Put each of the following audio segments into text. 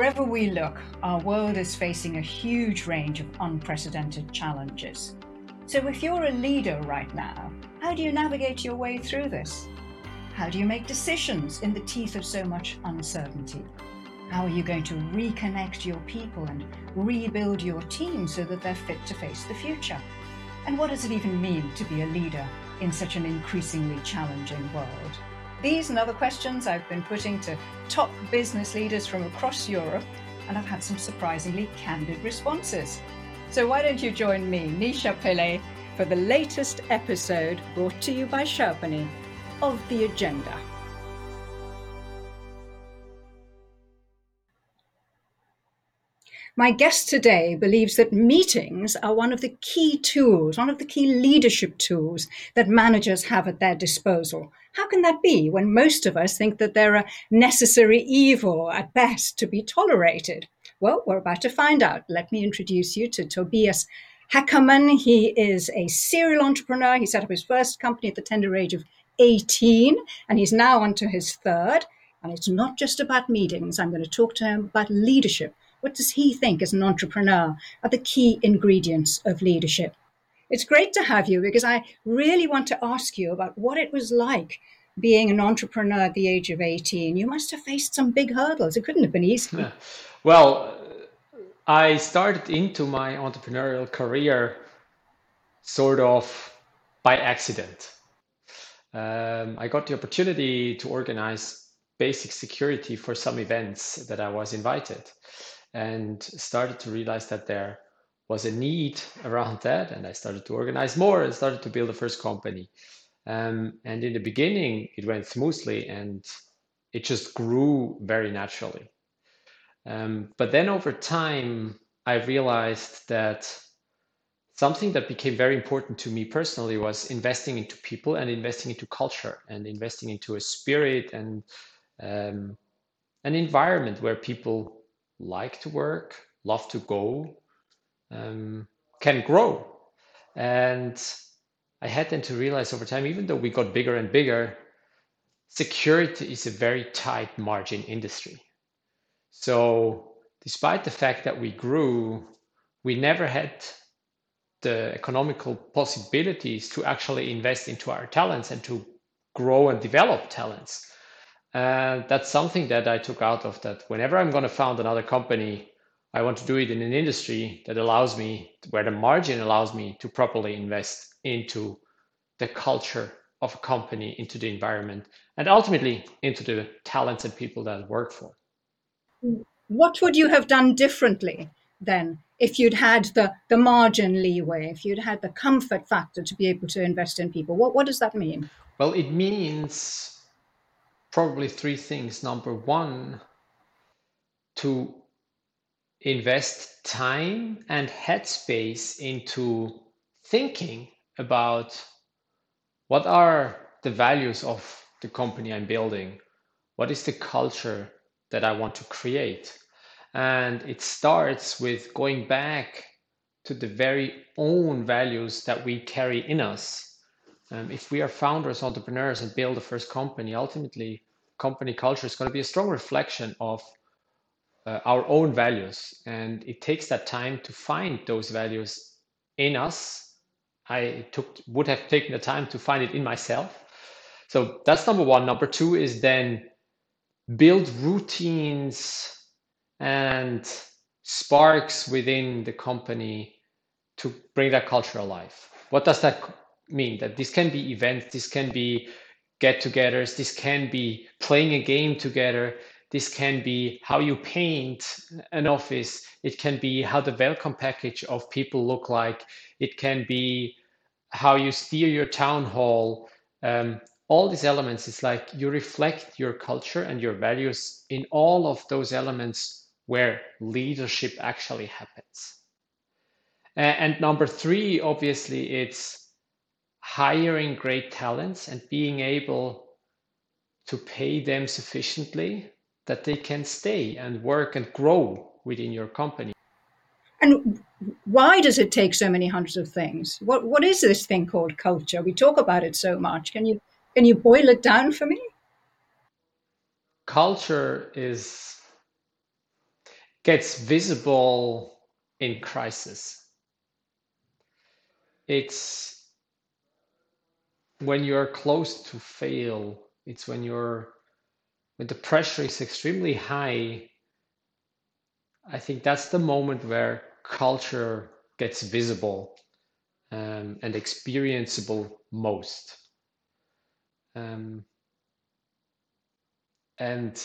Wherever we look, our world is facing a huge range of unprecedented challenges. So if you're a leader right now, how do you navigate your way through this? How do you make decisions in the teeth of so much uncertainty? How are you going to reconnect your people and rebuild your team so that they're fit to face the future? And what does it even mean to be a leader in such an increasingly challenging world? These and other questions I've been putting to top business leaders from across Europe, and I've had some surprisingly candid responses. So why don't you join me, Nisha Pillay, for the latest episode brought to you by Sherpany of The Agenda. My guest today believes that meetings are one of the key tools, one of the key leadership tools that managers have at their disposal. How can that be when most of us think that they're a necessary evil at best to be tolerated? Well, we're about to find out. Let me introduce you to Tobias Hackerman. He is a serial entrepreneur. He set up his first company at the tender age of 18, and he's now on to his third. And it's not just about meetings. I'm going to talk to him about leadership. What does he think as an entrepreneur are the key ingredients of leadership? It's great to have you because I really want to ask you about what it was like being an entrepreneur at the age of 18. You must have faced some big hurdles. It couldn't have been easy. Well, I started into my entrepreneurial career sort of by accident. I got the opportunity to organize basic security for some events that I was invited, and started to realize that there was a need around that. And I started to organize more and started to build a first company. And in the beginning, it went smoothly and it just grew very naturally. But then over time, I realized that something that became very important to me personally was investing into people and investing into culture and investing into a spirit and an environment where people like to work, love to go, can grow. And I had then to realize over time, even though we got bigger and bigger, security is a very tight margin industry. So despite the fact that we grew, we never had the economical possibilities to actually invest into our talents and to grow and develop talents. And that's something that I took out of that. Whenever I'm going to found another company, I want to do it in an industry that allows me, where the margin allows me to properly invest into the culture of a company, into the environment, and ultimately into the talents and people that I work for. What would you have done differently then if you'd had the margin leeway, if you'd had the comfort factor to be able to invest in people? What does that mean? Well, it means probably three things. Number one, to invest time and headspace into thinking about what are the values of the company I'm building? What is the culture that I want to create? And it starts with going back to the very own values that we carry in us. If we are founders, entrepreneurs, and build a first company, ultimately, company culture is going to be a strong reflection of our own values. And it takes that time to find those values in us. Would have taken the time to find it in myself. So that's number one. Number two is then build routines and sparks within the company to bring that culture alive. What does that mean? That this can be events, this can be get-togethers, this can be playing a game together, this can be how you paint an office, it can be how the welcome package of people look like, it can be how you steer your town hall. All these elements, it's like you reflect your culture and your values in all of those elements where leadership actually happens. And number three, obviously, it's hiring great talents and being able to pay them sufficiently that they can stay and work and grow within your company. And why does it take so many hundreds of things? What is this thing called culture? We talk about it so much. Can you boil it down for me? Culture is gets visible in crisis. It's when you're close to fail. It's when the pressure is extremely high. I think that's the moment where culture gets visible and experienceable most. And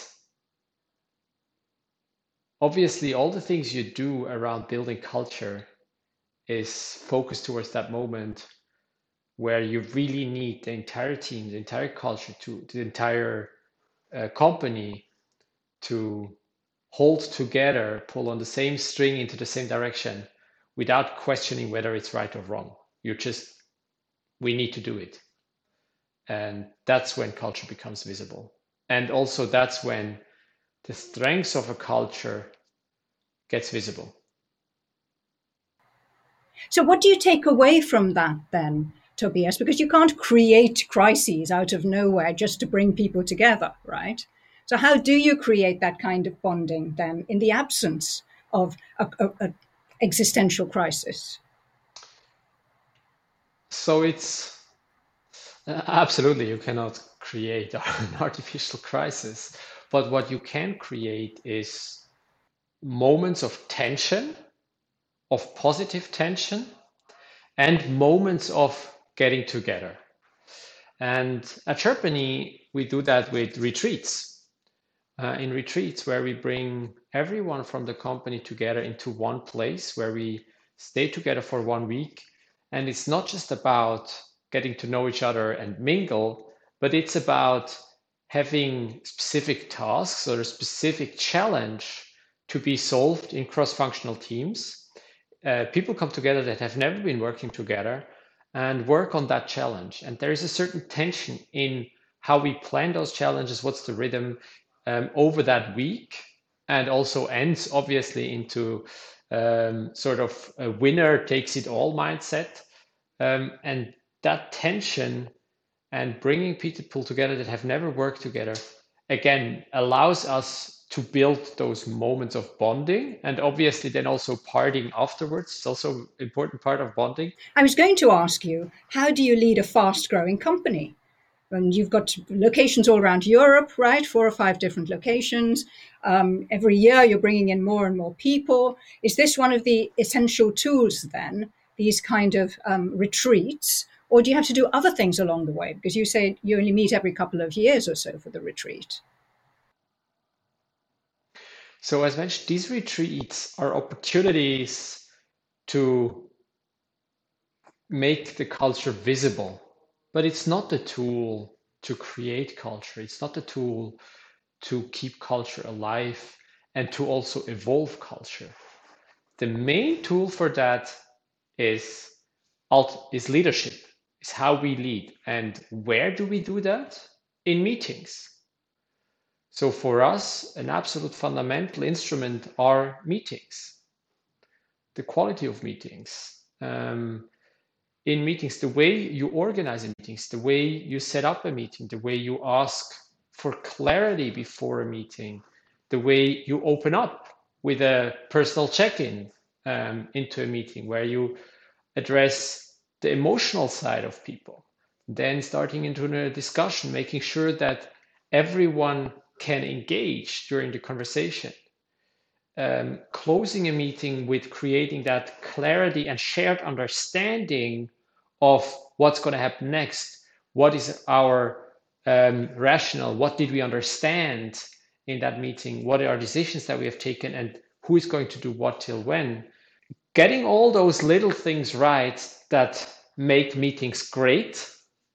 obviously, all the things you do around building culture is focused towards that moment where you really need the entire team, the entire culture, the entire company to hold together, pull on the same string into the same direction without questioning whether it's right or wrong. We need to do it. And that's when culture becomes visible. And also that's when the strengths of a culture gets visible. So, what do you take away from that then, Tobias? Because you can't create crises out of nowhere just to bring people together, right? So, how do you create that kind of bonding then in the absence of a existential crisis? So it's absolutely, you cannot create an artificial crisis, but what you can create is moments of tension, of positive tension, and moments of getting together. And at Sherpany, we do that with retreats. In retreats where we bring everyone from the company together into one place where we stay together for 1 week. And it's not just about getting to know each other and mingle, but it's about having specific tasks or a specific challenge to be solved in cross-functional teams. People come together that have never been working together and work on that challenge. And there is a certain tension in how we plan those challenges, what's the rhythm over that week, and also ends obviously into sort of a winner takes it all mindset. And that tension and bringing people together that have never worked together, again, allows us to build those moments of bonding, and obviously then also partying afterwards. It's also an important part of bonding. I was going to ask you, how do you lead a fast growing company? And you've got locations all around Europe, right? 4 or 5 different locations. Every year you're bringing in more and more people. Is this one of the essential tools then, these kind of retreats? Or do you have to do other things along the way? Because you say you only meet every couple of years or so for the retreat. So as mentioned, these retreats are opportunities to make the culture visible, but it's not the tool to create culture. It's not the tool to keep culture alive and to also evolve culture. The main tool for that is leadership, is how we lead. And where do we do that? In meetings. So for us, an absolute fundamental instrument are meetings, the quality of meetings. In meetings, the way you organize meetings, the way you set up a meeting, the way you ask for clarity before a meeting, the way you open up with a personal check-in into a meeting where you address the emotional side of people, then starting into a discussion, making sure that everyone can engage during the conversation. Closing a meeting with creating that clarity and shared understanding of what's going to happen next. What is our rationale? What did we understand in that meeting? What are decisions that we have taken, and who is going to do what till when? Getting all those little things right that make meetings great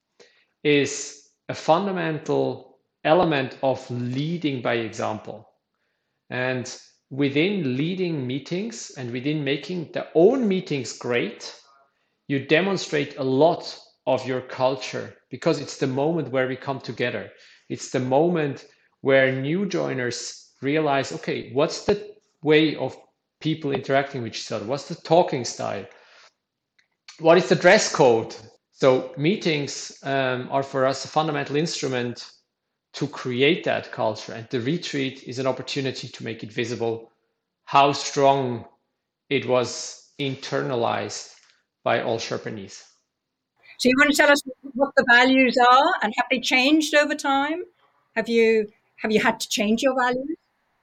is a fundamental element of leading by example. And within leading meetings and within making their own meetings great, you demonstrate a lot of your culture, because it's the moment where we come together. It's the moment where new joiners realize, okay, what's the way of people interacting with each other? What's the talking style? What is the dress code? So meetings are for us a fundamental instrument to create that culture, and the retreat is an opportunity to make it visible how strong it was internalized by all Sherpanese. So you want to tell us what the values are and have they changed over time? Have you had to change your values?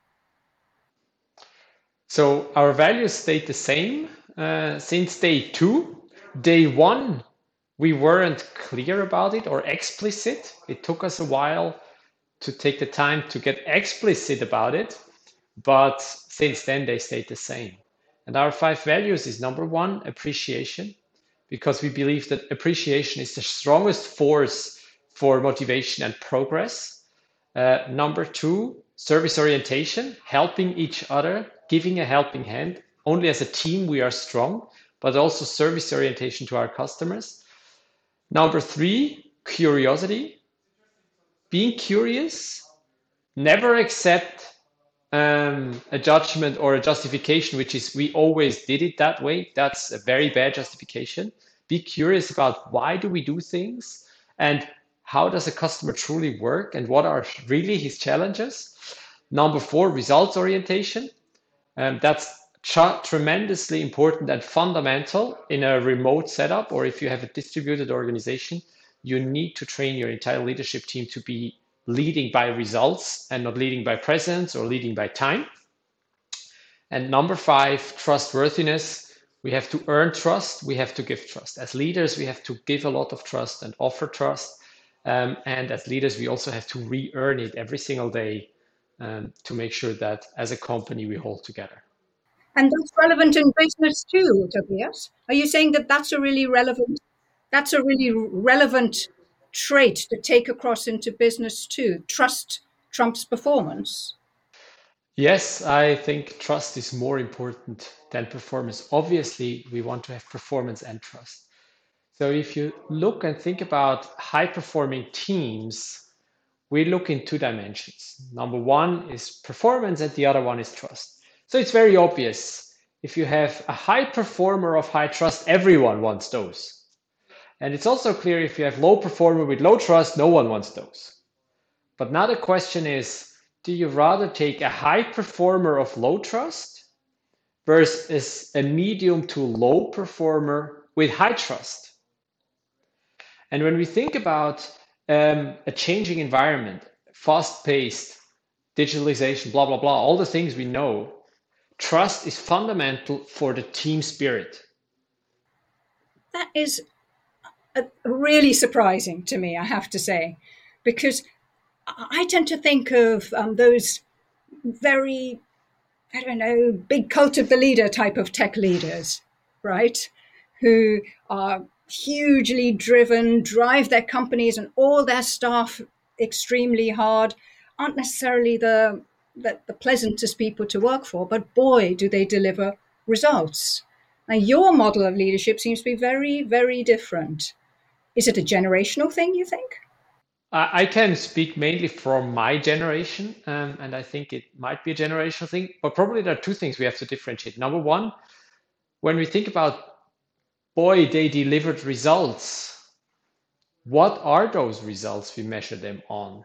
So our values stayed the same since day two. Day one, we weren't clear about it or explicit. It took us a while to take the time to get explicit about it, but since then they stayed the same. And our five values is number one, appreciation, because we believe that appreciation is the strongest force for motivation and progress. Number two, service orientation, helping each other, giving a helping hand. Only as a team we are strong, but also service orientation to our customers. Number three, curiosity, being curious, never accept a judgment or a justification, which is we always did it that way. That's a very bad justification. Be curious about why do we do things and how does a customer truly work and what are really his challenges. Number four, results orientation. That's tremendously important and fundamental in a remote setup, or if you have a distributed organization, you need to train your entire leadership team to be leading by results and not leading by presence or leading by time. And number five, trustworthiness. We have to earn trust. We have to give trust. As leaders, we have to give a lot of trust and offer trust. And as leaders, we also have to re-earn it every single day to make sure that as a company, we hold together. And that's relevant in business too, Tobias. Are you saying that that's a really relevant trait to take across into business too? Trust trumps performance. Yes, I think trust is more important than performance. Obviously, we want to have performance and trust. So if you look and think about high performing teams, we look in two dimensions. Number one is performance, and the other one is trust. So it's very obvious. If you have a high performer of high trust, everyone wants those. And it's also clear if you have low performer with low trust, no one wants those. But now the question is, do you rather take a high performer of low trust versus a medium to low performer with high trust? And when we think about a changing environment, fast-paced, digitalization, blah, blah, blah, all the things we know, trust is fundamental for the team spirit. That is really surprising to me, I have to say, because I tend to think of those very, I don't know, big cult of the leader type of tech leaders, right? Who are hugely driven, drive their companies and all their staff extremely hard, aren't necessarily the pleasantest people to work for, but boy, do they deliver results. Now, your model of leadership seems to be very, very different. Is it a generational thing, you think? I can speak mainly from my generation, and I think it might be a generational thing, but probably there are two things we have to differentiate. Number one, when we think about, boy, they delivered results, what are those results we measure them on?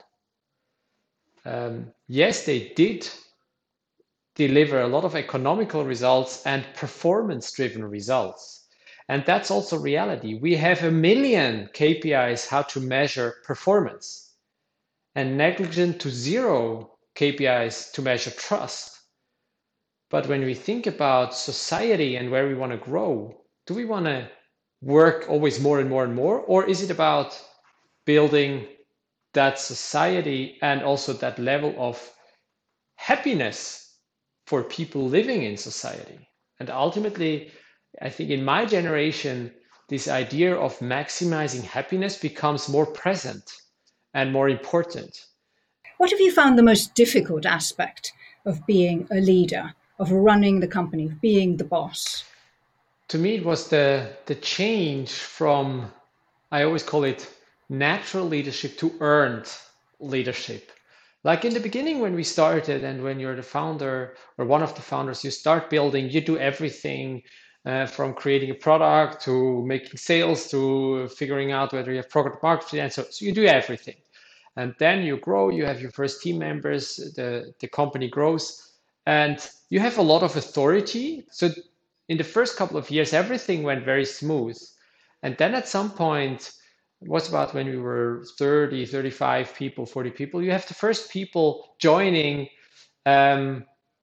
Yes, they did deliver a lot of economical results and performance-driven results. And that's also reality. We have a million KPIs how to measure performance and negligent to zero KPIs to measure trust. But when we think about society and where we want to grow, do we want to work always more and more and more? Or is it about building that society and also that level of happiness for people living in society? And ultimately, I think in my generation, this idea of maximizing happiness becomes more present and more important. What have you found the most difficult aspect of being a leader, of running the company, of being the boss? To me, it was the change from, I always call it natural leadership to earned leadership. Like in the beginning when we started and when you're the founder or one of the founders, you start building, you do everything from creating a product to making sales to figuring out whether you have product market fit, and so you do everything. And then you grow, you have your first team members, the company grows, and you have a lot of authority. So in the first couple of years, everything went very smooth. And then at some point, it was about when we were 30, 35 people, 40 people, you have the first people joining, um,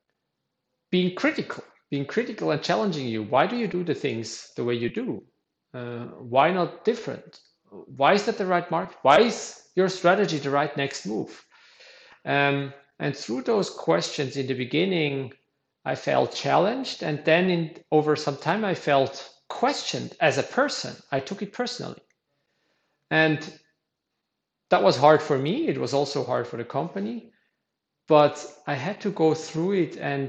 being critical and challenging you. Why do you do the things the way you do? Why not different? Why is that the right market? Why is your strategy the right next move? And through those questions in the beginning, I felt challenged. And then over some time, I felt questioned as a person. I took it personally. And that was hard for me. It was also hard for the company. But I had to go through it and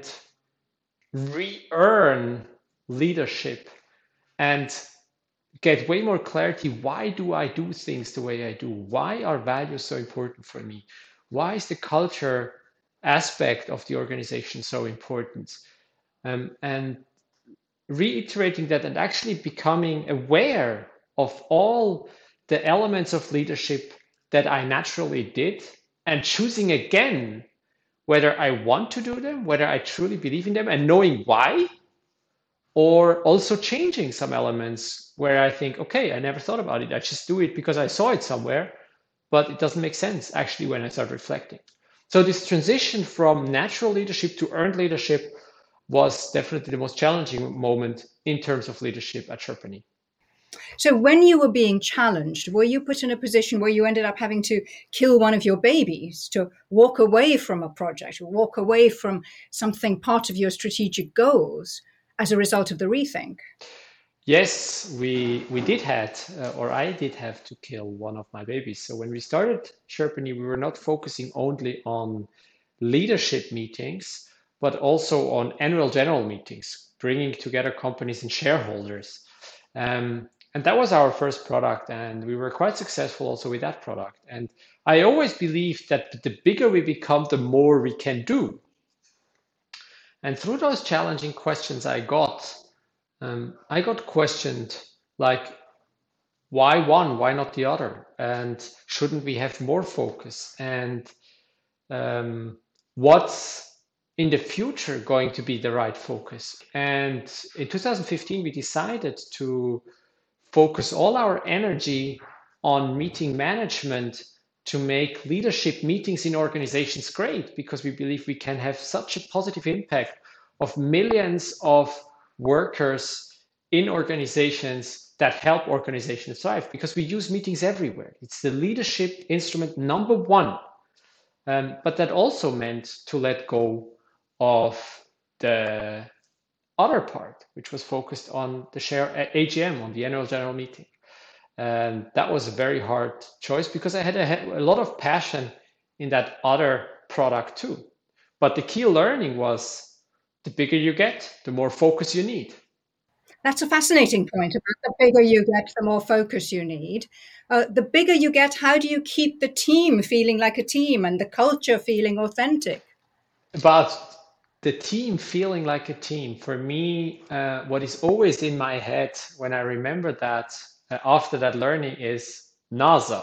re-earn leadership and get way more clarity. Why do I do things the way I do? Why are values so important for me? Why is the culture aspect of the organization so important? And reiterating that and actually becoming aware of all the elements of leadership that I naturally did and choosing again whether I want to do them, whether I truly believe in them, and knowing why, or also changing some elements where I think, okay, I never thought about it. I just do it because I saw it somewhere, but it doesn't make sense actually when I start reflecting. So this transition from natural leadership to earned leadership was definitely the most challenging moment in terms of leadership at Sherpany. So when you were being challenged, were you put in a position where you ended up having to kill one of your babies to walk away from a project or walk away from something part of your strategic goals as a result of the rethink? Yes, we did had, or I did have to kill one of my babies. So when we started Sherpany, we were not focusing only on leadership meetings, but also on annual general meetings, bringing together companies and shareholders. And that was our first product, and we were quite successful also with that product. And I always believed that the bigger we become, the more we can do. And through those challenging questions I got questioned like, why one? Why not the other? And shouldn't we have more focus? And what's in the future going to be the right focus? And in 2015, we decided to focus all our energy on meeting management to make leadership meetings in organizations great, because we believe we can have such a positive impact of millions of workers in organizations that help organizations thrive, because we use meetings everywhere. It's the leadership instrument number one. But that also meant to let go of the other part, which was focused on the share AGM, on the annual general meeting. And that was a very hard choice because I had a lot of passion in that other product too. But the key learning was the bigger you get, the more focus you need. That's a fascinating point about the bigger you get, the more focus you need. The bigger you get, how do you keep the team feeling like a team and the culture feeling authentic? About the team feeling like a team, for me, what is always in my head when I remember that after that learning is NASA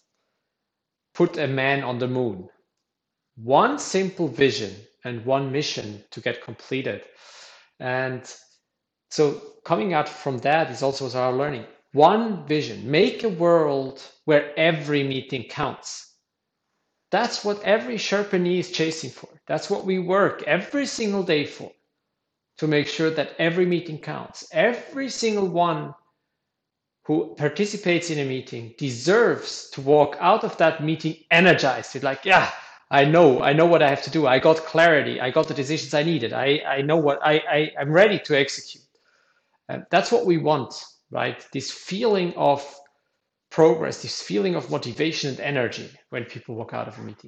put a man on the moon. One simple vision and one mission to get completed. And so coming out from that is also our learning. One vision, make a world where every meeting counts. That's what every Sherpany is chasing for. That's what we work every single day for, to make sure that every meeting counts. Every single one who participates in a meeting deserves to walk out of that meeting energized. It's like, yeah, I know what I have to do. I got clarity. I got the decisions I needed. I know what I'm ready to execute. And that's what we want, right? This feeling of progress, this feeling of motivation and energy when people walk out of a meeting.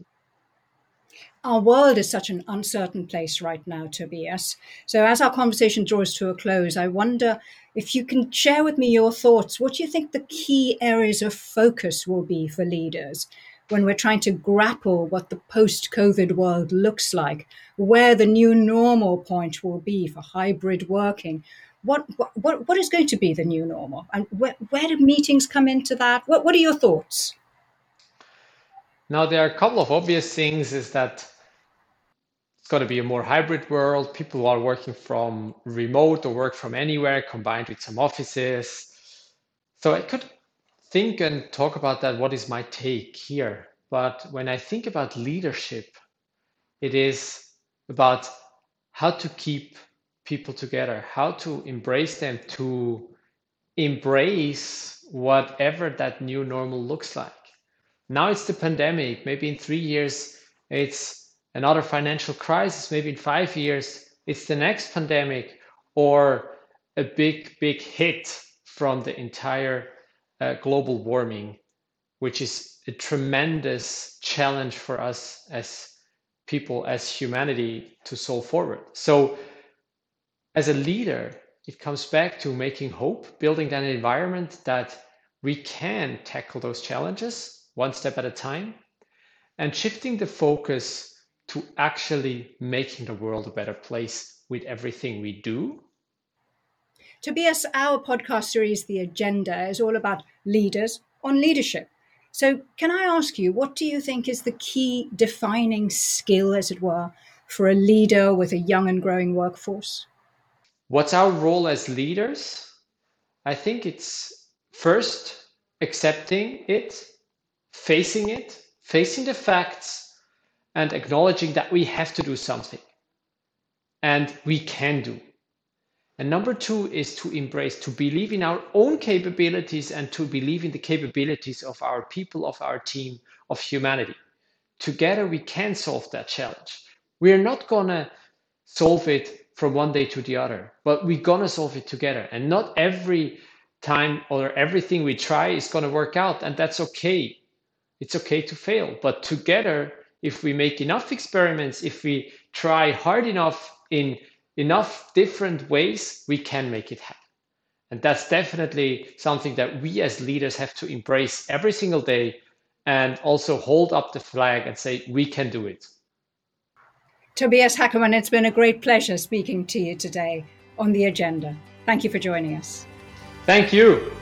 Our world is such an uncertain place right now, Tobias. So, as our conversation draws to a close, I wonder if you can share with me your thoughts. What do you think the key areas of focus will be for leaders when we're trying to grapple what the post COVID world looks like, where the new normal point will be for hybrid working? What is going to be the new normal? And where do meetings come into that? What are your thoughts? Now, there are a couple of obvious things is that it's going to be a more hybrid world. People are working from remote or work from anywhere, combined with some offices. So I could think and talk about that. What is my take here? But when I think about leadership, it is about how to keep people together, how to embrace them, to embrace whatever that new normal looks like. Now it's the pandemic. Maybe in 3 years, it's another financial crisis. Maybe in 5 years, it's the next pandemic or a big, big hit from the entire global warming, which is a tremendous challenge for us as people, as humanity, to solve forward. So as a leader, it comes back to making hope, building an environment that we can tackle those challenges one step at a time, and shifting the focus to actually making the world a better place with everything we do. Tobias, our podcast series, The Agenda, is all about leaders on leadership. So can I ask you, what do you think is the key defining skill, as it were, for a leader with a young and growing workforce? What's our role as leaders? I think it's first accepting it, facing the facts, and acknowledging that we have to do something and we can do. And number two is to embrace, to believe in our own capabilities and to believe in the capabilities of our people, of our team, of humanity. Together we can solve that challenge. We're not gonna solve it from one day to the other, but we're gonna solve it together. And not every time or everything we try is gonna work out, and that's okay. It's okay to fail, but together, if we make enough experiments, if we try hard enough in enough different ways, we can make it happen. And that's definitely something that we as leaders have to embrace every single day and also hold up the flag and say, we can do it. Tobias Hackermann, it's been a great pleasure speaking to you today on The Agenda. Thank you for joining us. Thank you.